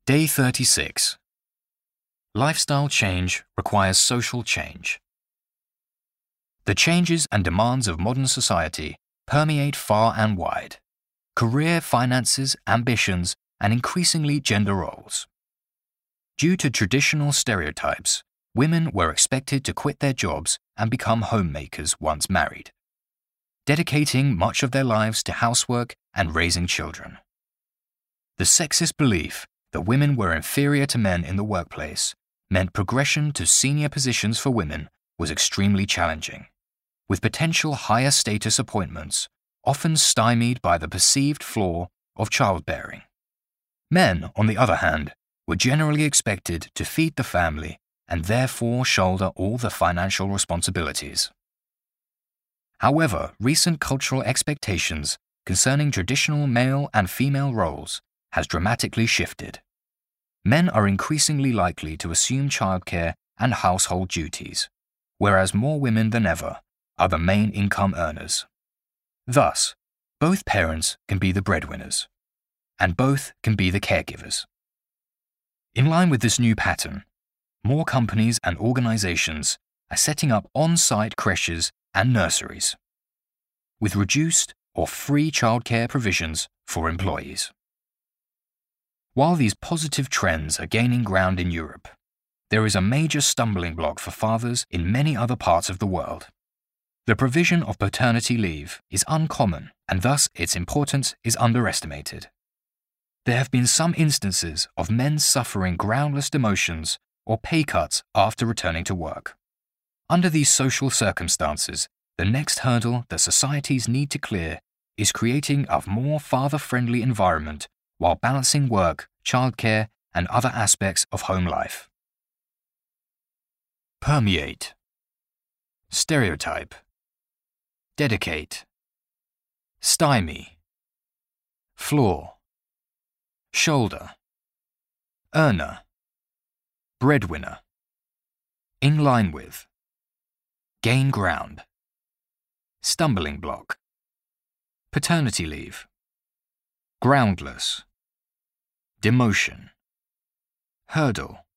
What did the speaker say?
Day 36. Lifestyle change requires social change. The changes and demands of modern society permeate far and wide. Career, finances, ambitions, and increasingly gender roles. Due to traditional stereotypes, women were expected to quit their jobs and become homemakers once married, dedicating much of their lives to housework and raising children. The sexist belief that women were inferior to men in the workplace meant progression to senior positions for women was extremely challenging, with potential higher status appointments often stymied by the perceived flaw of childbearing. Men, on the other hand, were generally expected to feed the family and therefore shoulder all the financial responsibilities. However, recent cultural expectations concerning traditional male and female roles has dramatically shifted. Men are increasingly likely to assume childcare and household duties, whereas more women than ever are the main income earners. Thus, both parents can be the breadwinners, and both can be the caregivers. In line with this new pattern, more companies and organizations are setting up on-site creches and nurseries, with reduced or free childcare provisions for employees. While these positive trends are gaining ground in Europe, there is a major stumbling block for fathers in many other parts of the world. The provision of paternity leave is uncommon, and thus its importance is underestimated. There have been some instances of men suffering groundless demotions or pay cuts after returning to work. Under these social circumstances, the next hurdle that societies need to clear is creating a more father-friendly environment while balancing work, childcare, and other aspects of home life. Permeate. Stereotype. Dedicate. Stymie. Flaw. Shoulder. Earner. Breadwinner. In line with. Gain ground. Stumbling block. Paternity leave. Groundless. Demotion. Hurdle.